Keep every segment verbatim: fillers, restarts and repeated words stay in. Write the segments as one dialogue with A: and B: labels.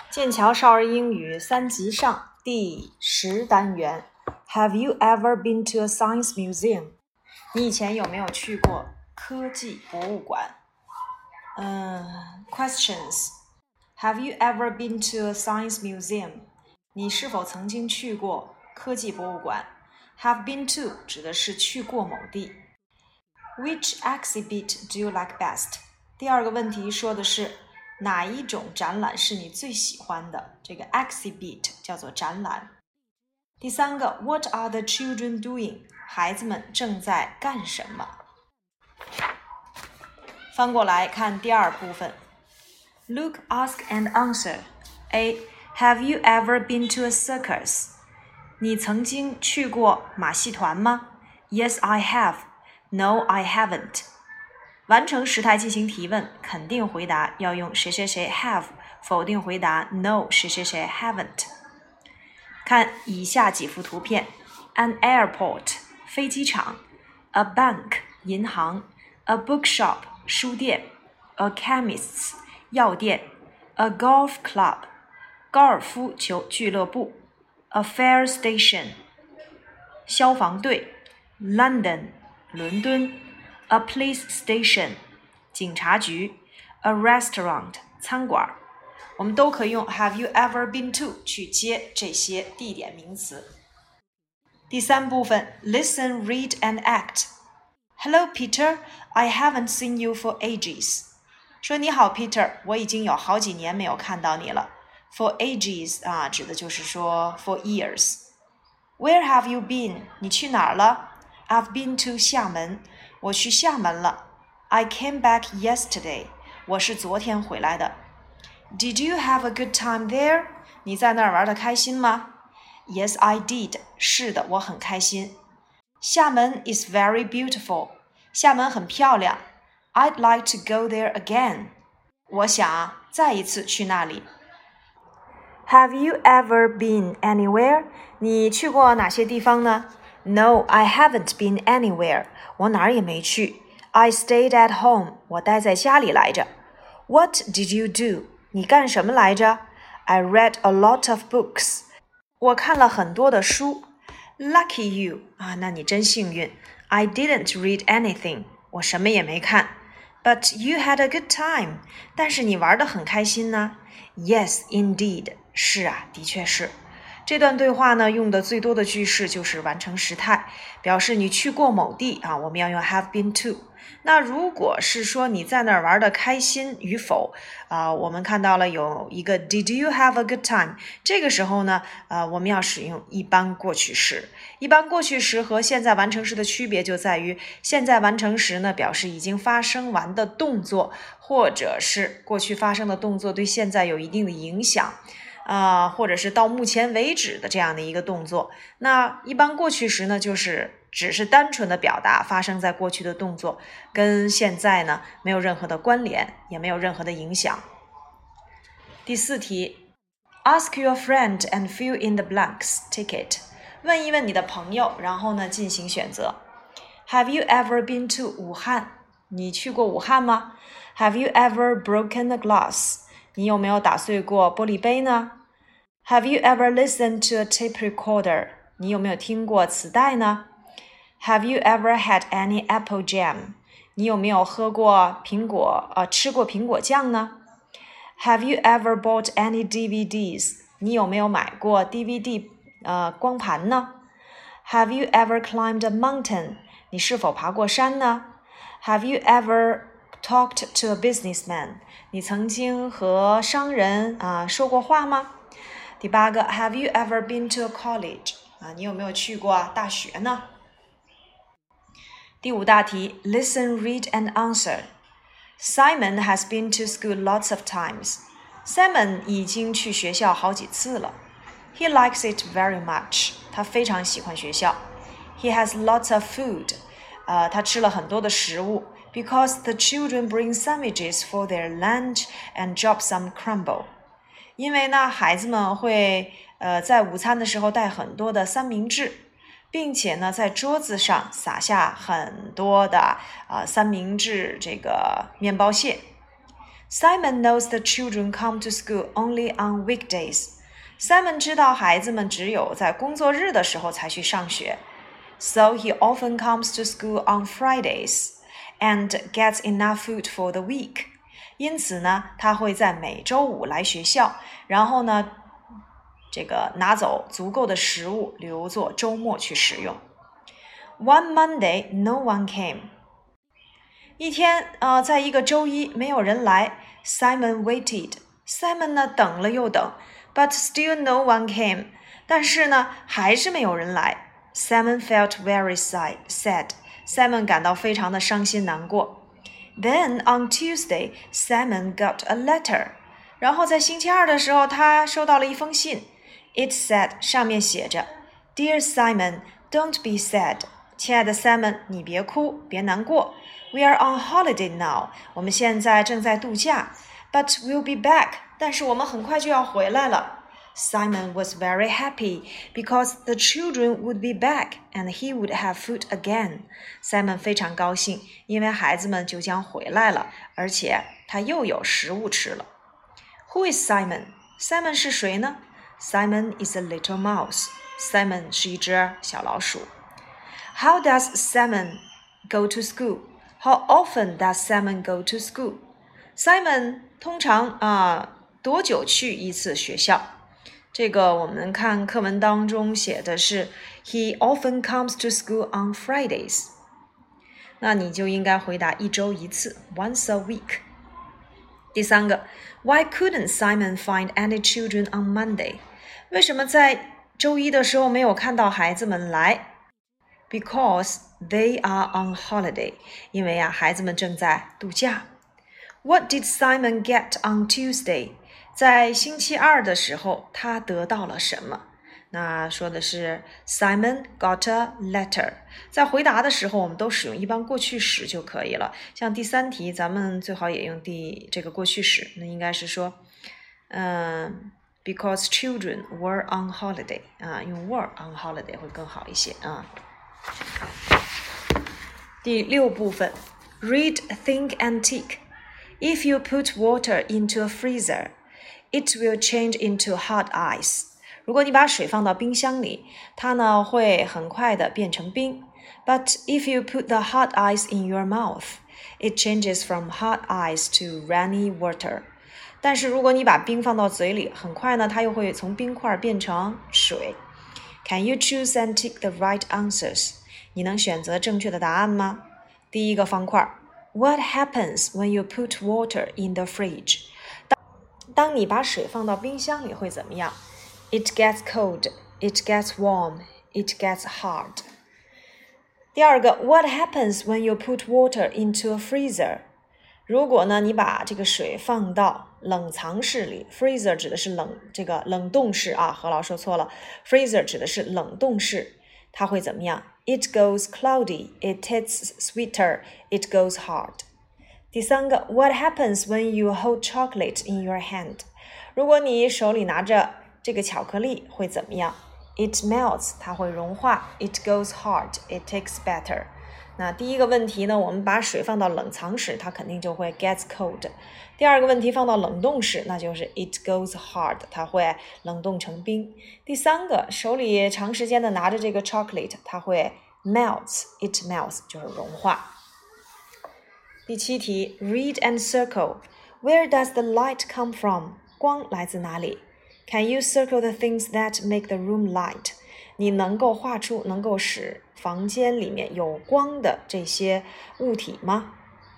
A: 剑桥少儿英语三级上第十单元 Have you ever been to a science museum? 你以前有没有去过科技博物馆？嗯、uh, Questions Have you ever been to a science museum? 你是否曾经去过科技博物馆？ Have been to 指的是去过某地。 Which exhibit do you like best? 第二个问题说的是哪一种展览是你最喜欢的？这个 exhibit 叫做展览。第三个 What are the children doing? 孩子们正在干什么？翻过来看第二部分。Look, ask and answer. A. Have you ever been to a circus? 你曾经去过马戏团吗？ Yes, I have. No, I haven't.完成时态进行提问，肯定回答要用谁谁谁 have， 否定回答 no 谁谁谁 haven't。 看以下几幅图片 An airport 飞机场， A bank 银行， A bookshop 书店， A chemist 药店， A golf club 高尔夫球俱乐部， A fire station 消防队， London 伦敦A police station 警察局， A restaurant 餐馆。我们都可以用 Have you ever been to 去接这些地点名词。第三部分 Listen, read and act. Hello Peter, I haven't seen you for ages. 说你好 Peter, 我已经有好几年没有看到你了。 For ages 啊，指的就是说 for years. Where have you been? 你去哪儿了？ I've been to 厦门。我去厦门了。 I came back yesterday. 我是昨天回来的。 Did you have a good time there? 你在那儿玩得开心吗？ Yes, I did. 是的，我很开心。厦门 is very beautiful. 厦门很漂亮。 I'd like to go there again. 我想再一次去那里。 Have you ever been anywhere? 你去过哪些地方呢？ No, I haven't been anywhere. 我哪儿也没去。 I stayed at home. 我待在家里来着。 What did you do? 你干什么来着？ I read a lot of books. 我看了很多的书。 Lucky you. 啊，那你真幸运。 I didn't read anything. 我什么也没看。 But you had a good time. 但是你玩得很开心呢。 Yes, indeed. 是啊，的确是。这段对话呢，用的最多的句式就是完成时态，表示你去过某地啊，我们要用 have been to。那如果是说你在那儿玩的开心与否啊，我们看到了有一个 Did you have a good time？ 这个时候呢，呃，我们要使用一般过去时。一般过去时和现在完成时的区别就在于，现在完成时呢，表示已经发生完的动作，或者是过去发生的动作对现在有一定的影响。啊、呃，或者是到目前为止的这样的一个动作。那一般过去时呢，就是只是单纯的表达发生在过去的动作，跟现在呢没有任何的关联，也没有任何的影响。第四题 Ask your friend and fill in the blanks. Ticket. 问一问你的朋友，然后呢进行选择。Have you ever been to 武汉？你去过武汉吗？ Have you ever broken a glass？ 你有没有打碎过玻璃杯呢？Have you ever listened to a tape recorder? 你有没有听过磁带呢？ Have you ever had any apple jam? 你有没有喝过苹果呃，吃过苹果酱呢？ Have you ever bought any D V Ds? 你有没有买过 D V D 呃，光盘呢？ Have you ever climbed a mountain? 你是否爬过山呢？ Have you ever talked to a businessman? 你曾经和商人啊、呃、说过话吗？第八个 Have you ever been to a college? 啊，你有没有去过大学呢？第五大题 Listen, read and answer. Simon has been to school lots of times. Simon 已经去学校好几次了。He likes it very much. 他非常喜欢学校。He has lots of food. 呃，他吃了很多的食物。Because the children bring sandwiches for their lunch and drop some crumble. 因为呢，孩子们会呃在午餐的时候带很多的三明治，并且呢在桌子上撒下很多的呃三明治这个面包屑。 Simon knows the children come to school only on weekdays. Simon 知道孩子们只有在工作日的时候才去上学。So he often comes to school on Fridays and gets enough food for the week. 因此呢，他会在每周五来学校，然后呢，这个拿走足够的食物，留作周末去使用。One Monday, no one came. 一天，呃，在一个周一，没有人来。Simon waited. Simon 呢，等了又等 ，but still no one came. 但是呢，还是没有人来。Simon felt very sad. Simon 感到非常的伤心难过。Then on Tuesday, Simon got a letter. 然后在星期二的时候，他收到了一封信。It said 上面写着 ，Dear Simon, don't be sad. 亲爱的 Simon， 你别哭，别难过。We are on holiday now. 我们现在正在度假。But we'll be back. 但是我们很快就要回来了。Simon was very happy because the children would be back and he would have food again. Simon 非常高兴，因为孩子们就将回来了，而且他又有食物吃了。Who is Simon? Simon 是谁呢？ Simon is a little mouse. Simon 是一只小老鼠。How does Simon go to school? How often does Simon go to school? Simon 通常啊、呃、多久去一次学校？这个我们看课文当中写的是 He often comes to school on Fridays. 那你就应该回答一周一次 once a week. 第三个 Why couldn't Simon find any children on Monday? 为什么在周一的时候没有看到孩子们来？ Because they are on holiday. 因为啊，孩子们正在度假。What did Simon get on Tuesday? 在星期二的时候，他得到了什么？那说的是 Simon got a letter. 在回答的时候，我们都使用一般过去时就可以了。像第三题，咱们最好也用第这个过去时。那应该是说，嗯 ，because children were on holiday. 啊，用 were on holiday 会更好一些啊。第六部分 Read, think and tick. If you put water into a freezer, it will change into hot ice. 如果你把水放到冰箱里，它呢会很快的变成冰。But if you put the hot ice in your mouth, it changes from hot ice to runny water. 但是如果你把冰放到嘴里，很快呢它又会从冰块变成水。Can you choose and tick the right answers? 你能选择正确的答案吗？第一个方块 What happens when you put water in the fridge? 当, 当你把水放到冰箱里会怎么样？ It gets cold, it gets warm, it gets hard. 第二个 What happens when you put water into a freezer? 如果呢你把这个水放到冷藏室里 freezer 指的是冷这个冷冻室啊，何老说错了 freezer 指的是冷冻室，它会怎么样？ It goes cloudy, it tastes sweeter, it goes hard. 第三个 What happens when you hold chocolate in your hand? 如果你手里拿着这个巧克力会怎么样？ It melts, 它会融化 It goes hard, it tastes better. 那第一个问题呢，我们把水放到冷藏室，它肯定就会 gets cold。第二个问题放到冷冻室，那就是 it goes hard， 它会冷冻成冰。第三个，手里长时间的拿着这个 chocolate， 它会 melts， it melts 就是融化。第七题 read and circle. Where does the light come from? 光来自哪里？ Can you circle the things that make the room light?你能够画出能够使房间里面有光的这些物体吗？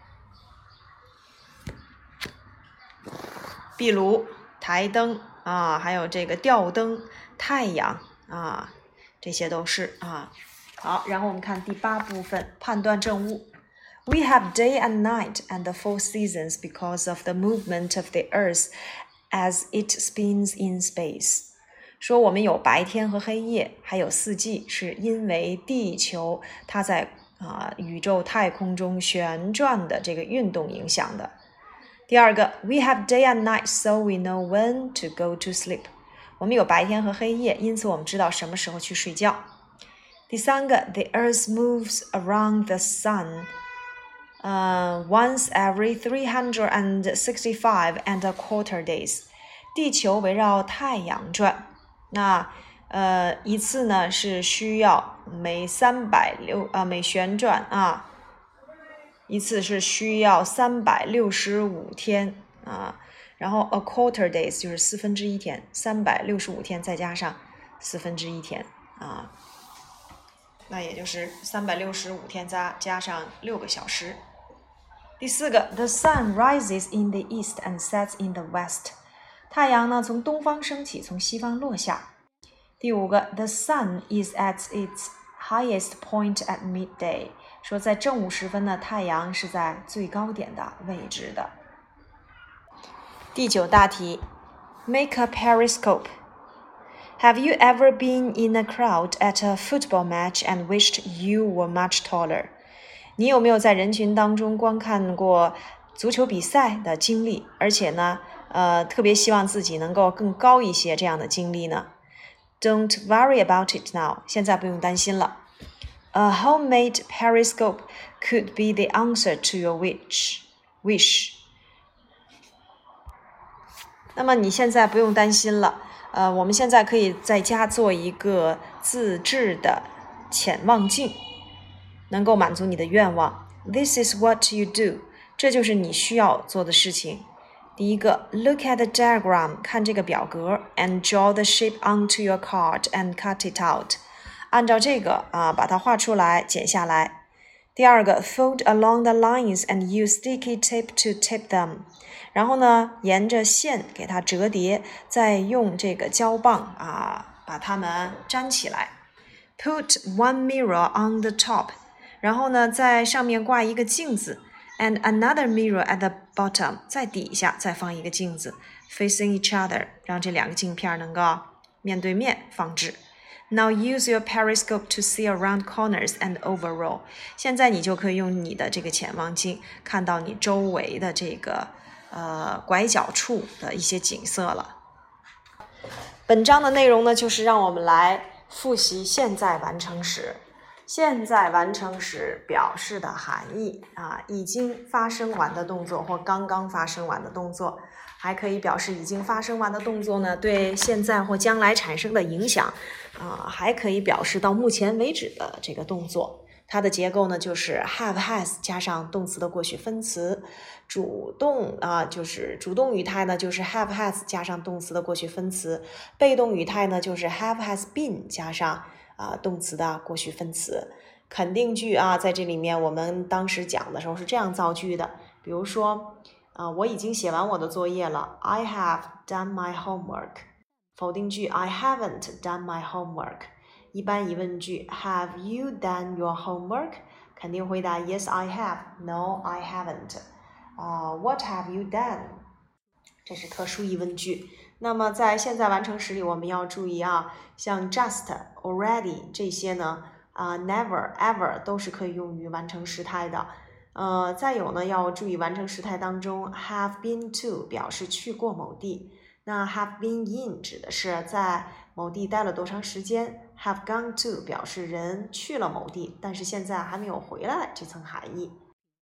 A: 壁炉、台灯啊，还有这个吊灯、太阳啊，这些都是啊。好，然后我们看第八部分，判断正误。We have day and night and the four seasons because of the movement of the earth as it spins in space.说我们有白天和黑夜，还有四季，是因为地球它在啊、呃、宇宙太空中旋转的这个运动影响的。第二个 We have day and night so we know when to go to sleep. 我们有白天和黑夜，因此我们知道什么时候去睡觉。第三个 The earth moves around the sun. 呃 once every three hundred sixty-five and a quarter days， 地球围绕太阳转。那呃一次呢是需要每三百六呃每旋转啊，一次是需要三百六十五天啊。然后 a quarter days 就是四分之一天，三百六十五天再加上四分之一天啊，那也就是三百六十五天加加上六个小时。第四个 ，The sun rises in the east and sets in the west。太阳呢从东方升起，从西方落下。第五个 ，The sun is at its highest point at midday。说在正午时分呢，太阳是在最高点的位置的。第九大题 ，Make a periscope。Have you ever been in a crowd at a football match and wished you were much taller？ 你有没有在人群当中观看过足球比赛的经历，而且呢，呃，特别希望自己能够更高一些这样的经历呢？ Don't worry about it now， 现在不用担心了。A homemade periscope could be the answer to your wish. wish. 那么你现在不用担心了。呃，我们现在可以在家做一个自制的潜望镜，能够满足你的愿望。This is what you do， 这就是你需要做的事情。第一个 ，Look at the diagram， 看这个表格 ，and draw the shape onto your card and cut it out， 按照这个啊，把它画出来，剪下来。第二个 ，Fold along the lines and use sticky tape to tape them。然后呢，沿着线给它折叠，再用这个胶棒啊把它们粘起来。Put one mirror on the top， 然后呢，在上面挂一个镜子 ，and another mirror at the bottom， 在底下再放一个镜子 ，facing each other， 让这两个镜片能够面对面放置。Now use your periscope to see around corners and overall。现在你就可以用你的这个潜望镜看到你周围的这个。呃，拐角处的一些景色了。本章的内容呢，就是让我们来复习现在完成时。现在完成时表示的含义啊，已经发生完的动作或刚刚发生完的动作，还可以表示已经发生完的动作呢对现在或将来产生的影响啊，还可以表示到目前为止的这个动作。它的结构呢，就是 have has 加上动词的过去分词，主动啊，就是主动语态呢，就是 have has 加上动词的过去分词，被动语态呢，就是 have has been 加上啊动词的过去分词。肯定句啊，在这里面我们当时讲的时候是这样造句的，比如说啊，我已经写完我的作业了 ，I have done my homework。否定句 I haven't done my homework。一般疑问句 Have you done your homework？ 肯定回答 Yes, I have. No, I haven't. 啊、uh, What have you done？ 这是特殊疑问句。那么在现在完成时里，我们要注意啊，像 just, already 这些呢，啊、uh, never, ever 都是可以用于完成时态的。呃，再有呢，要注意完成时态当中 have been to 表示去过某地。那 have been in 指的是在某地待了多长时间 have gone to 表示人去了某地，但是现在还没有回来这层含义。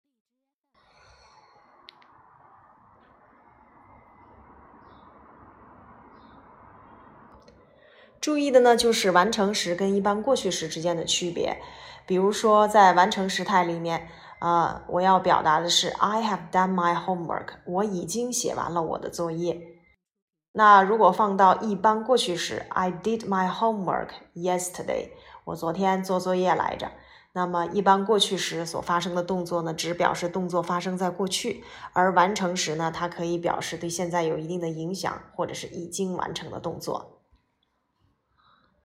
A: 注意的呢，就是完成时跟一般过去时之间的区别。比如说在完成时态里面呃，我要表达的是 I have done my homework， 我已经写完了我的作业。那如果放到一般过去时 I did my homework yesterday， 我昨天做作业来着。那么一般过去时所发生的动作呢，只表示动作发生在过去，而完成时呢，它可以表示对现在有一定的影响，或者是已经完成的动作。